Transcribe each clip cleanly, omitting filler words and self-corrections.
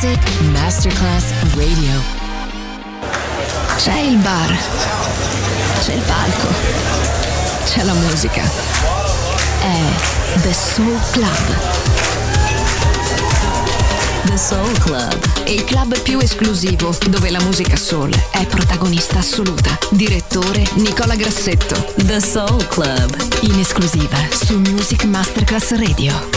Music Masterclass Radio. C'è il bar, c'è il palco, c'è la musica. È The Soul Club. The Soul Club. Il club più esclusivo dove la musica soul è protagonista assoluta. Direttore Nicola Grassetto. The Soul Club. In esclusiva su Music Masterclass Radio.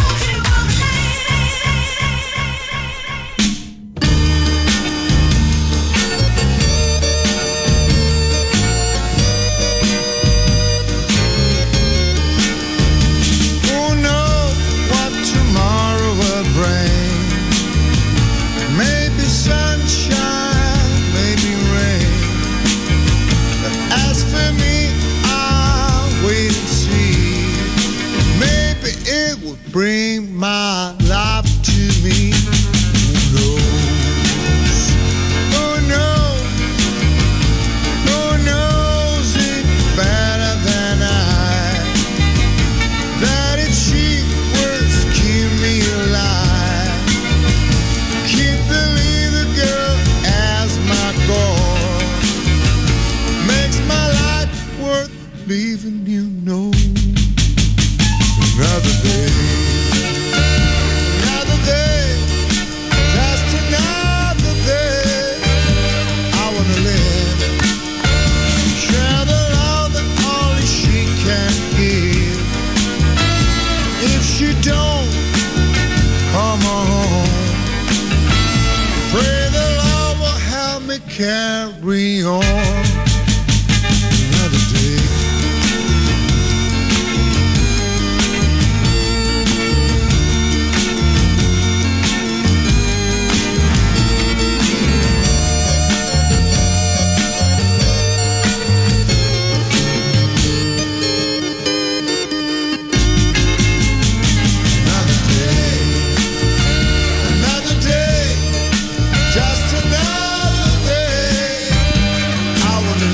Bring my life to me. Who knows? Who knows? Who knows it better than I? That if she was keep me alive, keep the little girl as my goal, makes my life worth living, you know. Another day. Carry on another day. Another day, just another day. I wanna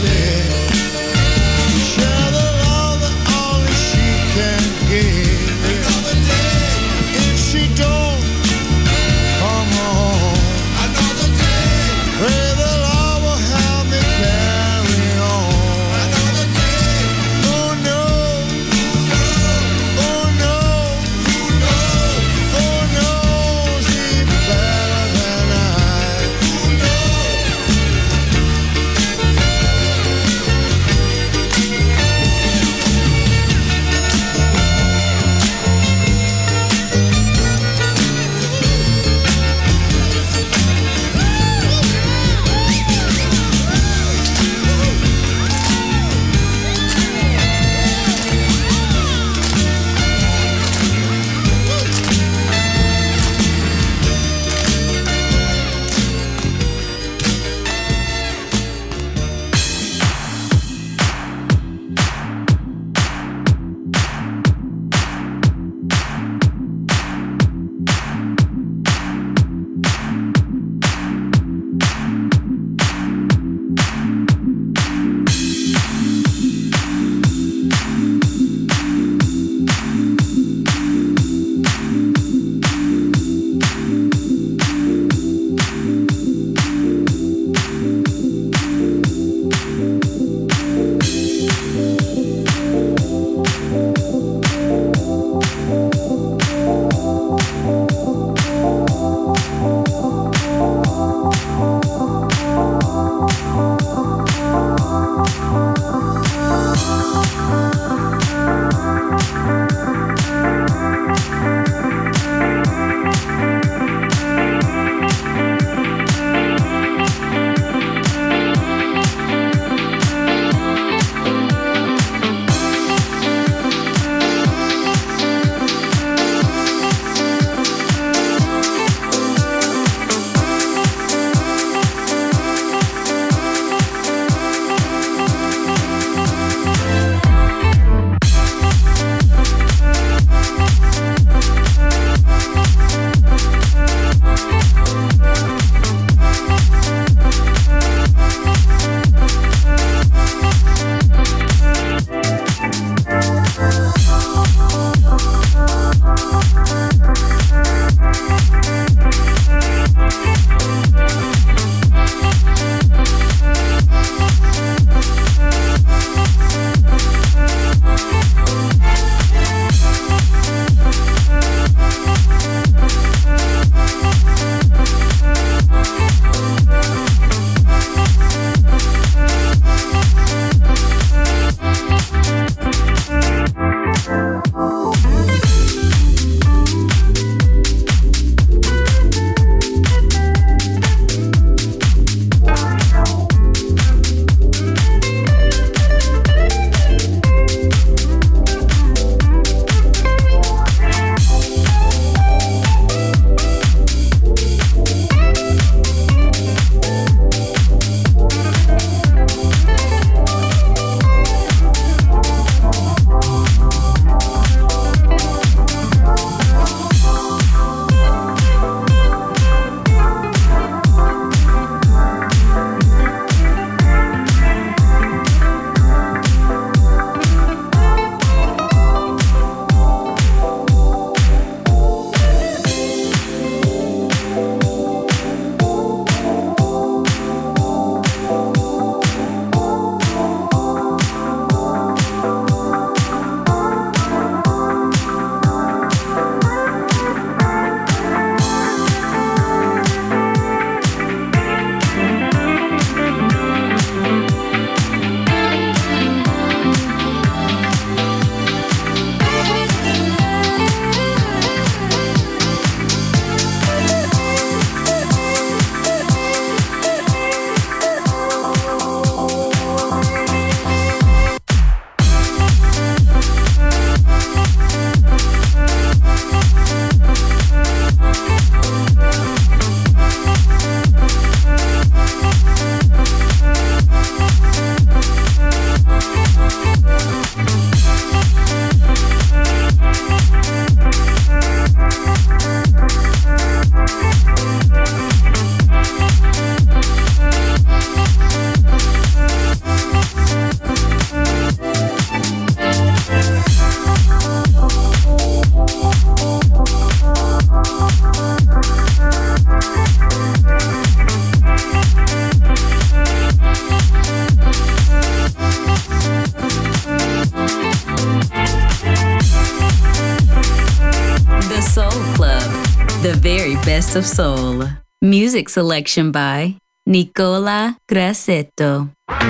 Soul Club, the very best of soul. Music selection by Nicola Grassetto.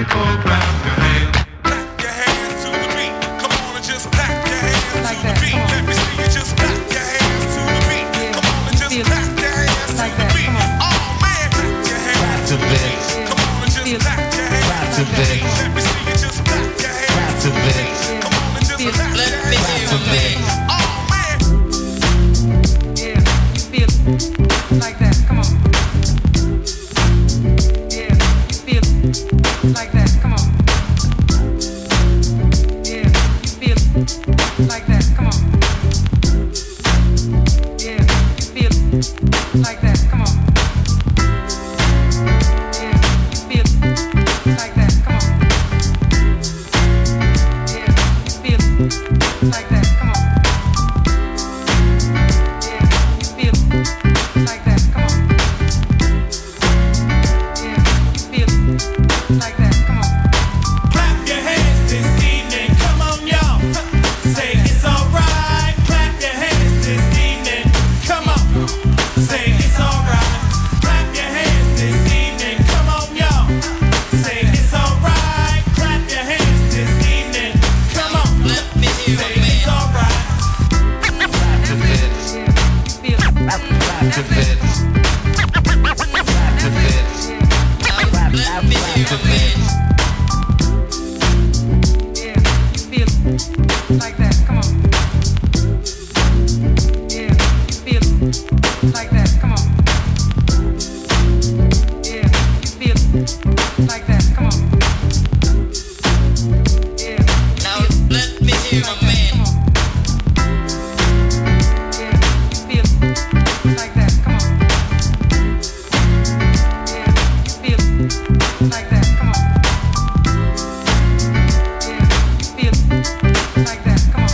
Like that, come on. Yeah, feel like that, come on. Yeah, feel like that, come on. Yeah, feel like that, come on. Yeah, feel like that, come on. Yeah, feel like that, come on. Yeah, feel like that, come on. Yeah, feel like that, come on. Clap your hands this evening, come on y'all. Say it's alright. Clap your hands this evening, come on. Say it's alright. Clap your hands this evening, come on y'all. Say it's alright. Clap your hands this evening, come on. Say it's alright. Like that, come on. Yeah, feel like that, come on. Yeah, feel like that, come on. Yeah, now let me hear my man. Yeah, feel like that, come on. Yeah, feel like that, come on. Yeah, feel like that, come on.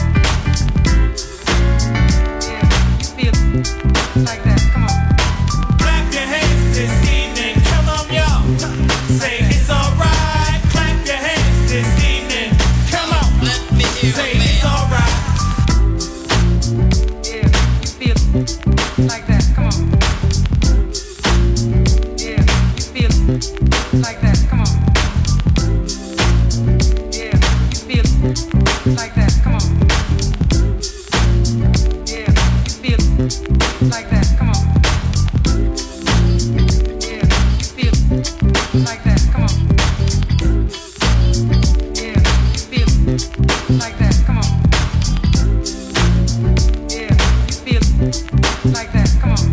Yeah, feel like that, come on. Clap your hands this evening, come on y'all. Say it's alright. Clap your hands this evening, come on. Say it's alright. Yeah, feel like that, come on. Yeah, feel like that, come on. Yeah, feel like that, come on. Yeah, feel like that, come on. Yeah, feel like that, come on. Yeah, feel like that, come on. Yeah, feel like that, come on.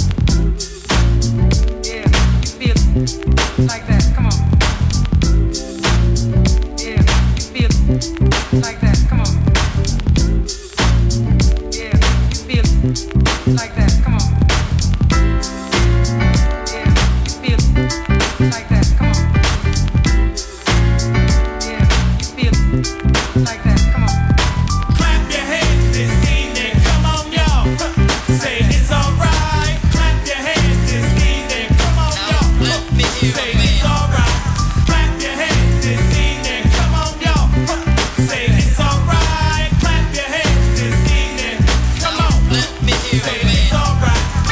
Yeah, feel like that, come on. Yeah, feel like that, come on. Yeah, feel like that, come on. Yeah, feel like that, come on. Yeah, feel like that, come on. Clap your hands this evening, come on y'all. Say it's alright. Clap your hands this evening, come on y'all. Say it's alright. Clap your hands this evening, come on y'all. Say it's alright. Clap your hands this evening, come on. Say it's alright.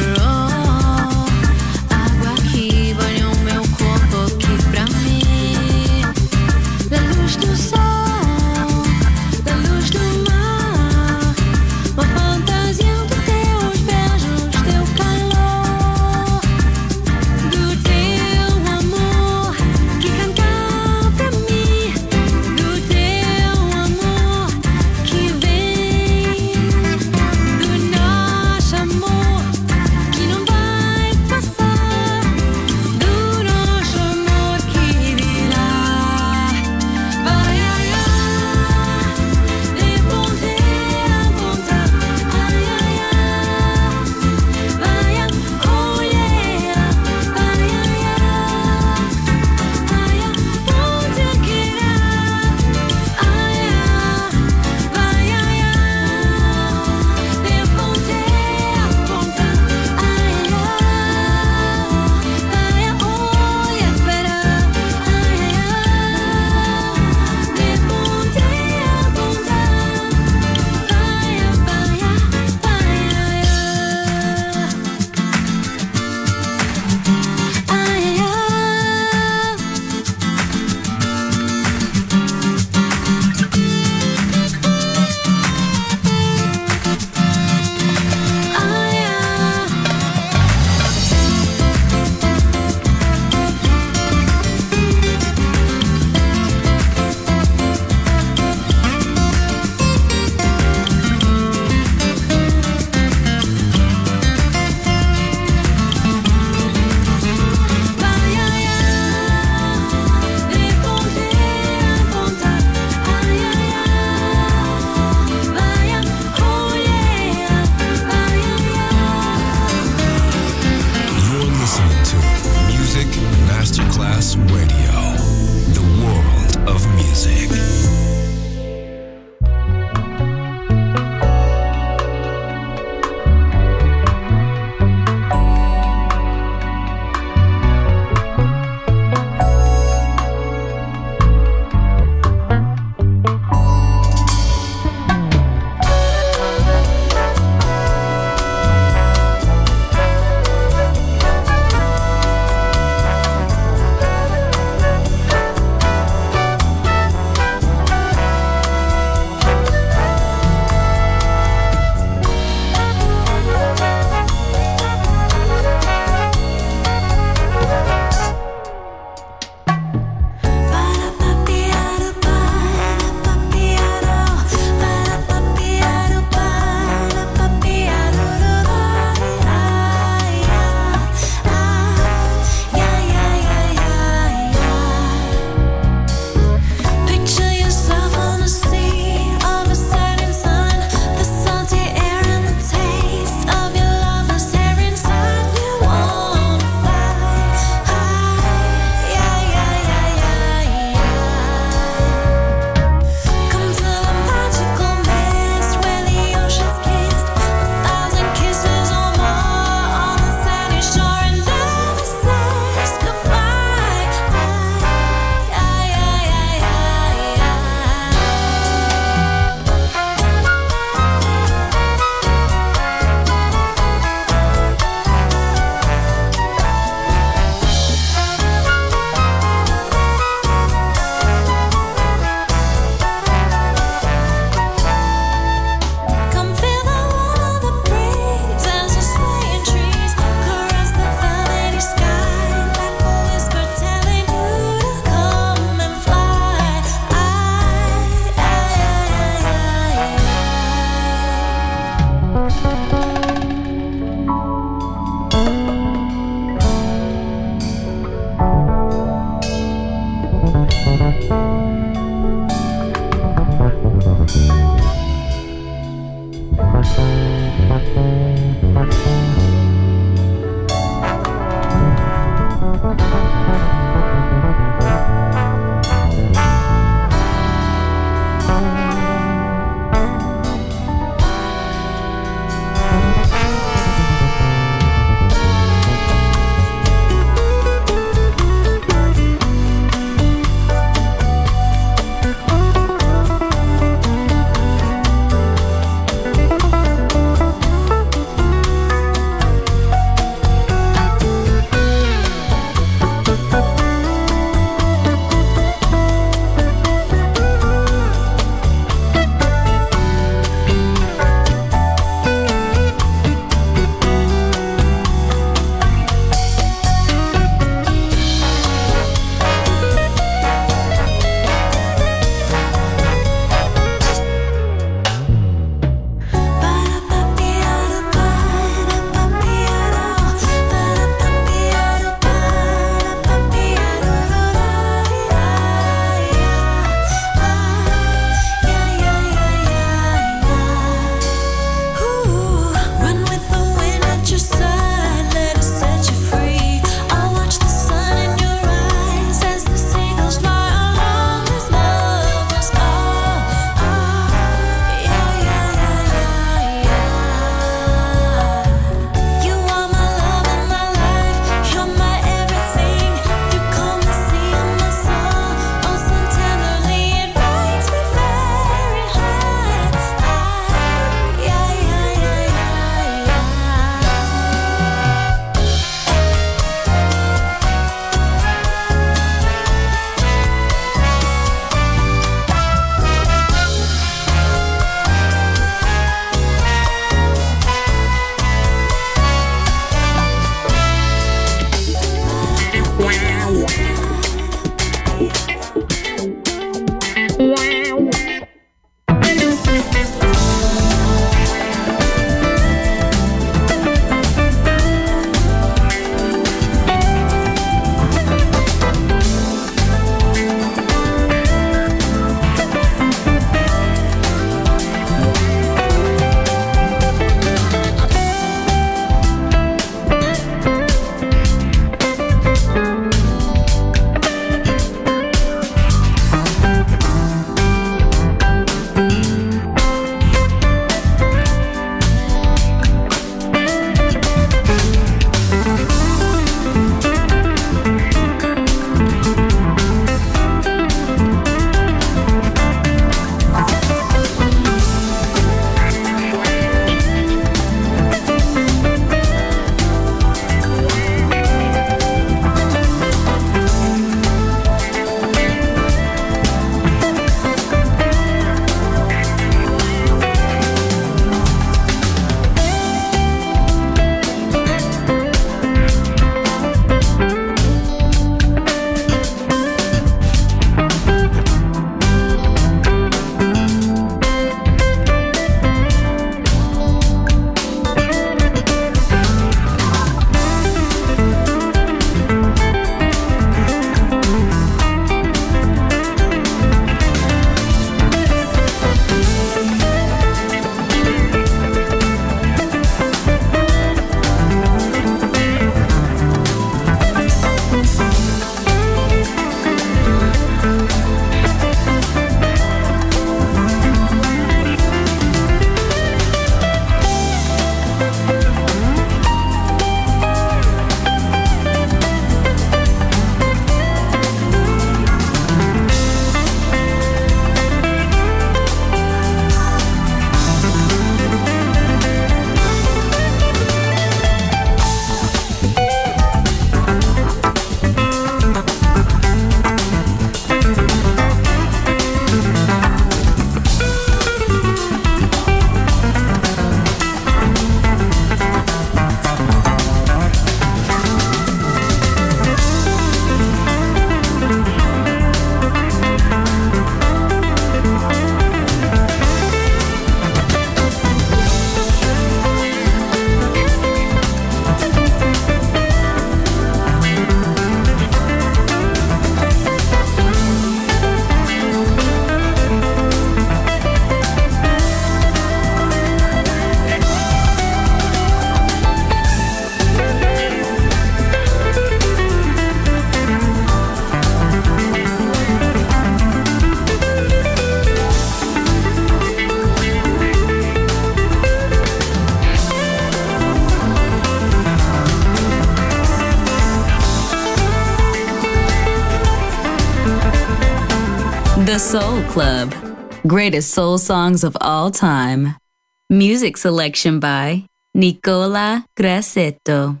Soul Club. Greatest soul songs of all time. Music selection by Nicola Grassetto.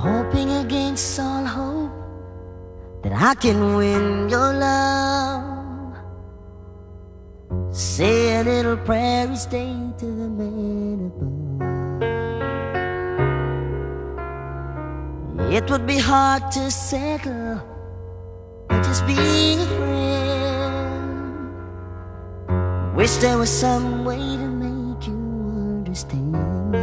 hoping against all hope that I can win your love. Say a little prayer each day to the man above. It would be hard to settle for just being a friend. Wish there was some way to make you understand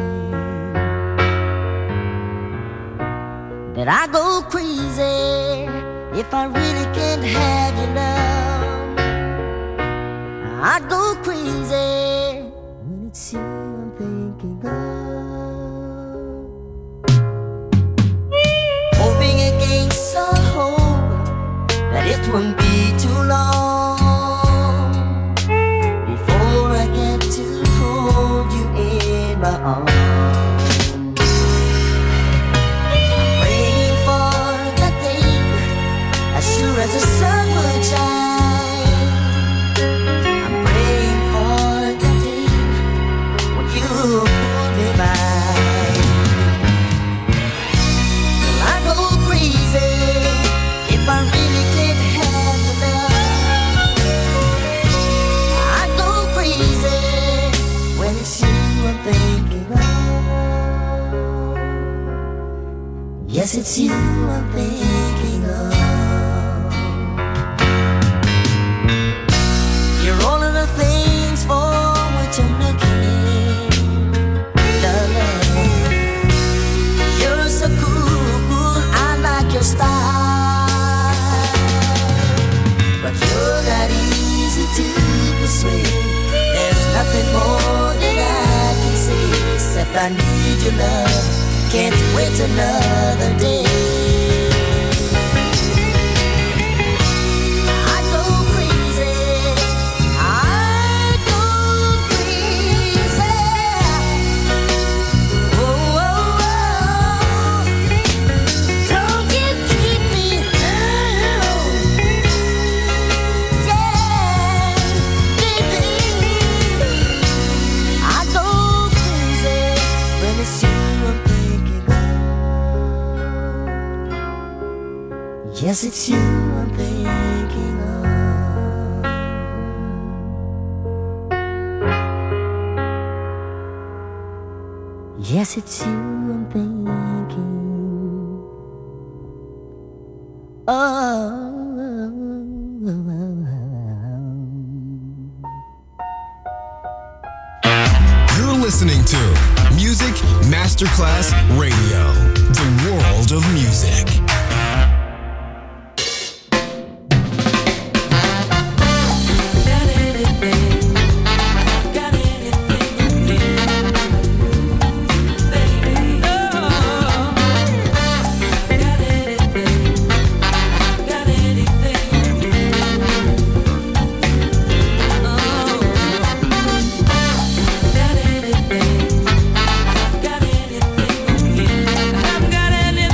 that I go crazy if I really can't have your love. I go crazy when it's you I'm thinking of. Hoping against all hope that it won't be too long before I get to hold you in my arms. Sure as the sun will shine, I'm praying for the day when you hold me by. Well, I go crazy if I really can't have your love. I go crazy when it's you I'm thinking of. Yes, it's you I'm thinking of. Things for which I'm looking, darling. You're so cool, I like your style, but you're not easy to persuade. There's nothing more that I can say except I need your love. Can't wait another day. Yes, it's you I'm thinking of. Yes, it's you I'm thinking of. You're listening to Music Masterclass Radio, the world of music. Got anything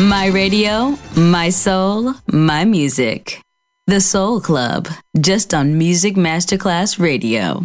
My radio, my soul, my music. The Soul Club, just on Music Masterclass Radio.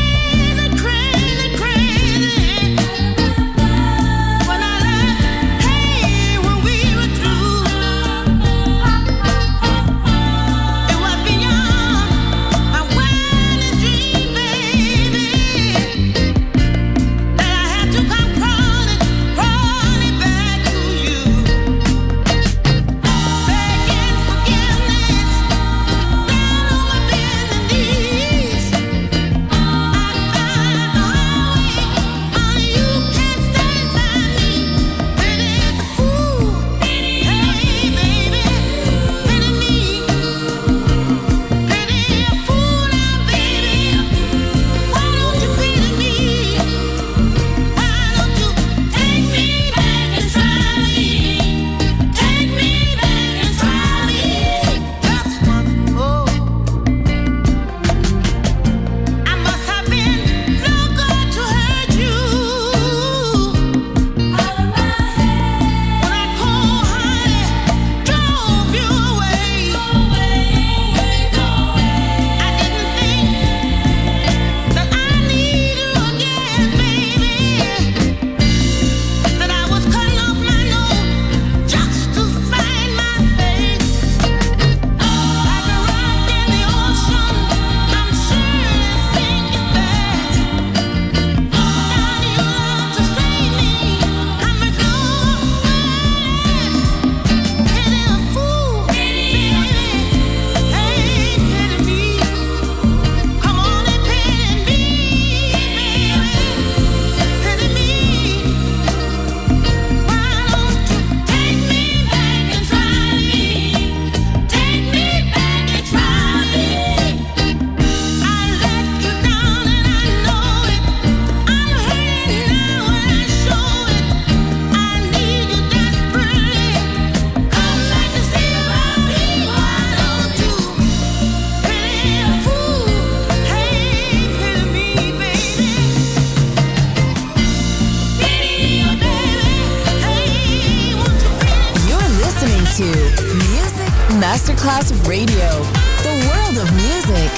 Hey to Music Masterclass Radio, the world of music.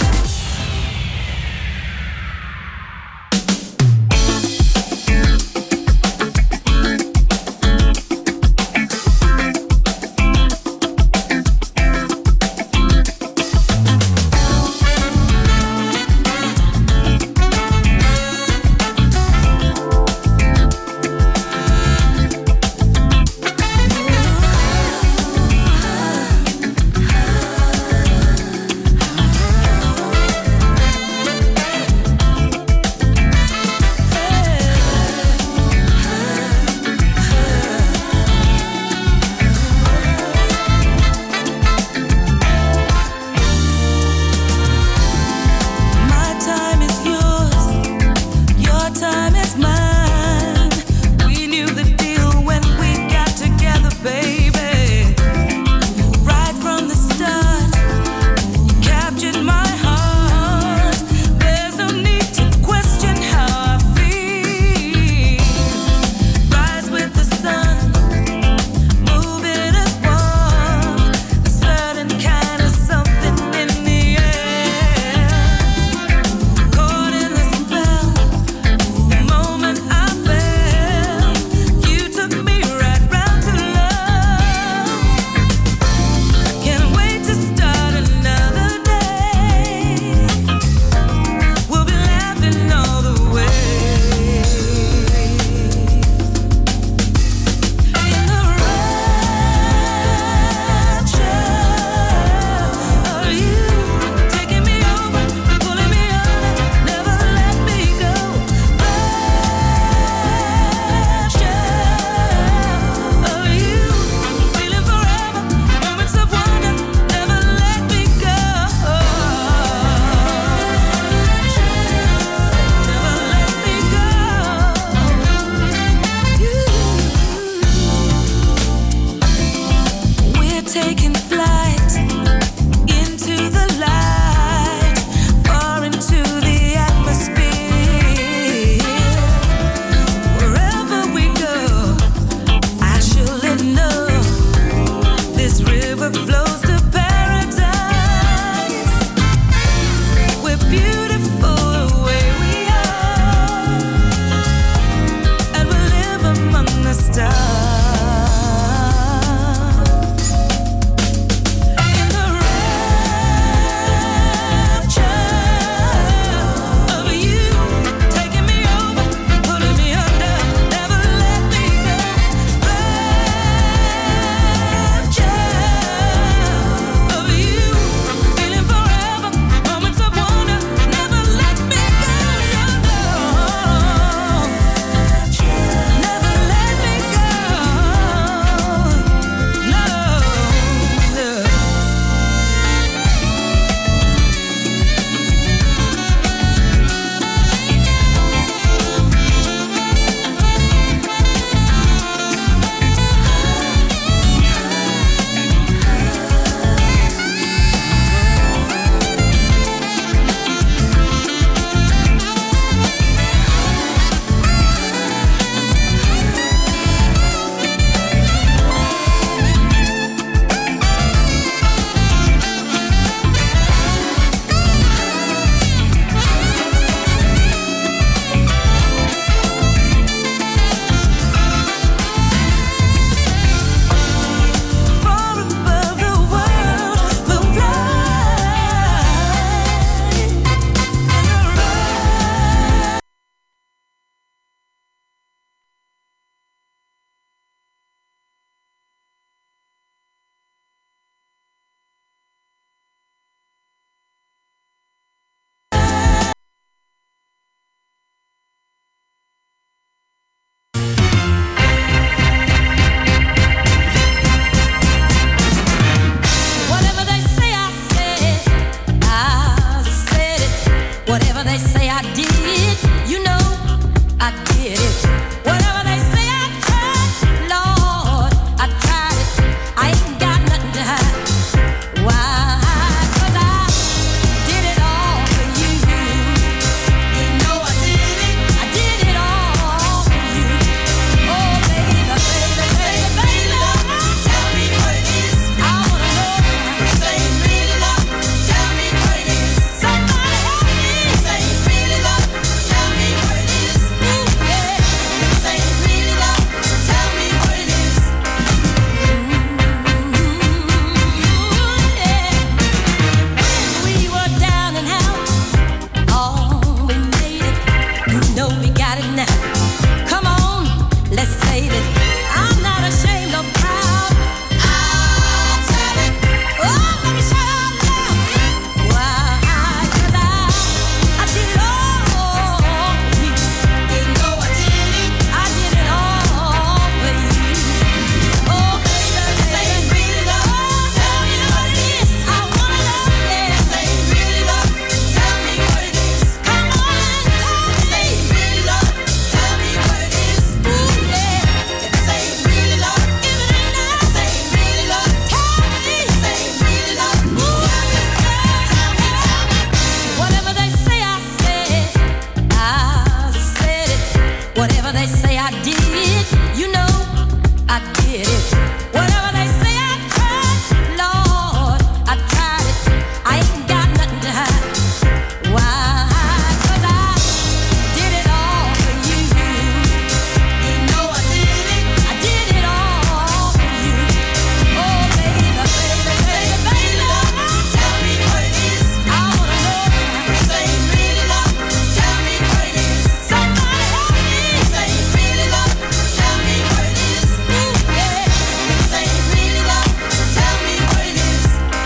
did it. Whatever they say, I tried, Lord, I tried it. I ain't got nothing to hide. Why? 'Cause I did it all for you. You know I did it. I did it all for you. Oh, baby, baby, baby, baby, tell me what it is. I wanna know. Say you really love. Tell me what it is. Somebody help me. Say you really love. Tell me what it is. Ooh, yeah. Say you really love. Tell me what it is.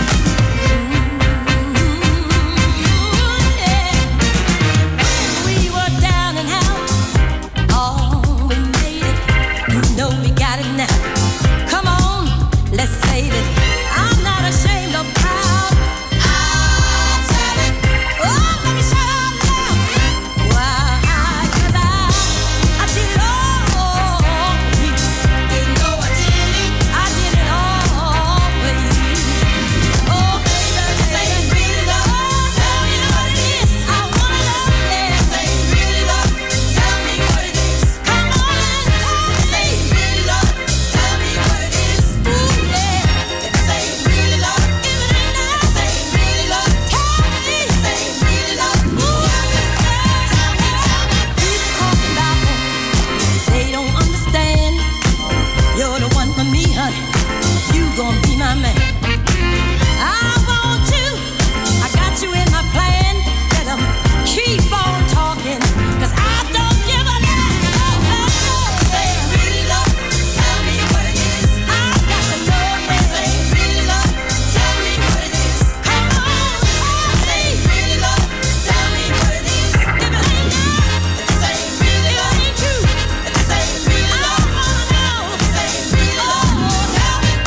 We were down and out. Oh, we made it. You know we got it now. Come on, let's save it. I'm not ashamed or proud. I'll tell it. Oh, let me shut up now. Why? 'Cause I did it all for you. You know I did it. I did it all for you. Oh, baby, say you really love. Tell me what it is. I wanna know. Yeah, say you really love. Tell me what it is. Come on and tell me. Say you really love. Tell me what it is. Ooh, yeah. Say you really love. If it ain't now, say you really love. Tell me. Say you really love. Ooh, tell me. People talking about me. They don't understand. You're the one for me, honey. You gon' be my man. I want you. I got you in my plan. Let 'em keep on talking, 'cause I don't give a damn. Say you really love. Tell me what it is. I got to know you. Say you really love. Tell me what it is. Come on. Say you really love. Tell me what it is. If it ain't now, say you really love. If it ain't true, say you really love. I wanna know. Say you really love. Tell me.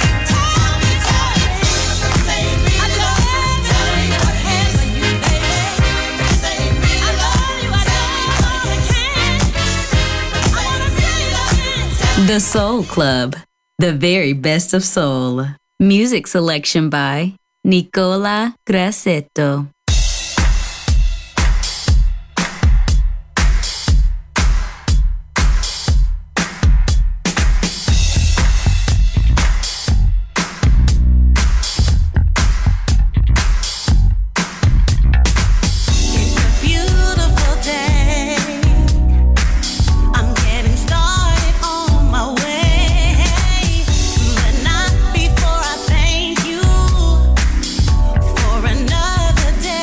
Say you really love. Tell me what it is. For you, baby. Say you really love. I love you. I can. I wanna say it. The Soul Club, the very best of soul. Music selection by Nicola Grassetto. It's a beautiful day. I'm getting started on my way, but not before I thank you for another day.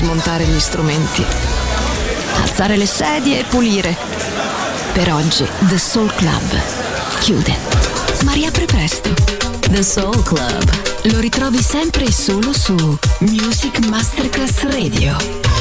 smontare gli strumenti, alzare le sedie e pulire. Per oggi The Soul Club chiude, ma riapre presto. The Soul Club. Lo ritrovi sempre e solo su Music Masterclass Radio.